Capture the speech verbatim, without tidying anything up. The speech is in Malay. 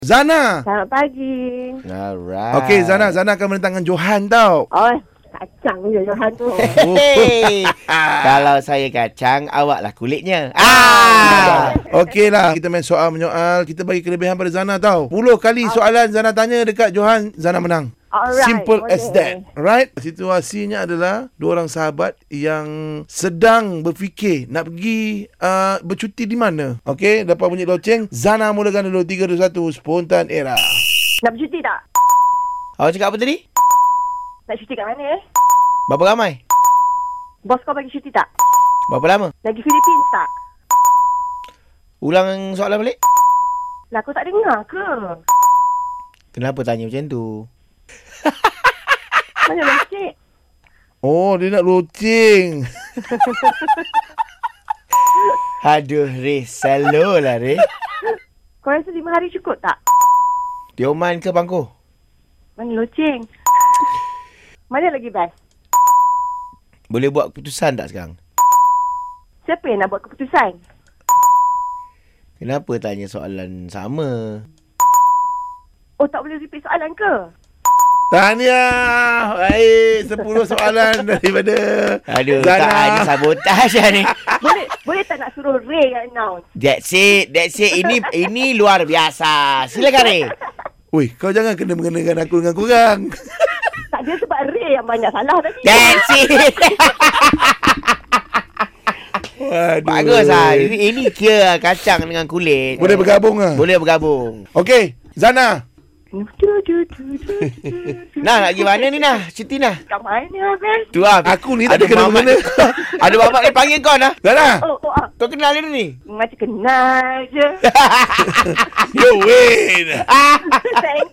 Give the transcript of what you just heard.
Zana. Selamat pagi. Alright. Okey, Zana. Zana akan menentangkan Johan tau. Oh, kacang je Johan tu. Hey. Kalau saya kacang, awaklah kulitnya. Ah. Okey lah. Kita main soal menyoal. Kita bagi kelebihan pada Zana tau. sepuluh kali soalan Zana tanya dekat Johan, Zana menang. Alright, Simple boleh. as that. Right? Situasinya adalah dua orang sahabat yang sedang berfikir nak pergi uh, bercuti di mana. Okey, lepas bunyi loceng, Zana mulakan dulu. Tiga, dua, satu. Spontan era. Nak bercuti tak? Awak cakap apa tadi? Nak cuti kat mana eh? Berapa ramai? Bos kau bagi cuti tak? Berapa lama? Lagi Philippines tak? Ulang soalan balik. Lah kau tak dengar ke? Kenapa tanya macam tu? Mana locek? Oh, dia nak loceng. Aduh, Reh. Selalu lah, Reh. Kau rasa lima hari cukup tak? Dioman ke Bangko? Mana loceng? Mana lagi best? Boleh buat keputusan tak sekarang? Siapa yang nak buat keputusan? Kenapa tanya soalan sama? Oh, tak boleh repeat soalan ke? Tahniah. Baik, sepuluh soalan daripada Aduh, Zana. tak ada sabotaj lah ni. Boleh boleh tak nak suruh Ray yang announce? That's it. That's it. Ini ini luar biasa. Silakan, Reh. Ui, kau jangan kena mengenakan aku dengan korang. Tak, dia sebab Ray yang banyak salah tadi. That's it. Waduh. Bagus lah. Ini, ini kira kacang dengan kulit. Boleh bergabung lah. Boleh bergabung. Okey, Zana. Nah, nak pergi mana ni, Nah? Cuti, Nah? Kat mana, Ben? Tu lah. Aku ni tak ada Mamat- kena-mengena. Ada bapak ni panggil kau, Nah. Zana. Oh, oh, ah. Kau kenal dia ni? Macam kenal je. You win. Thank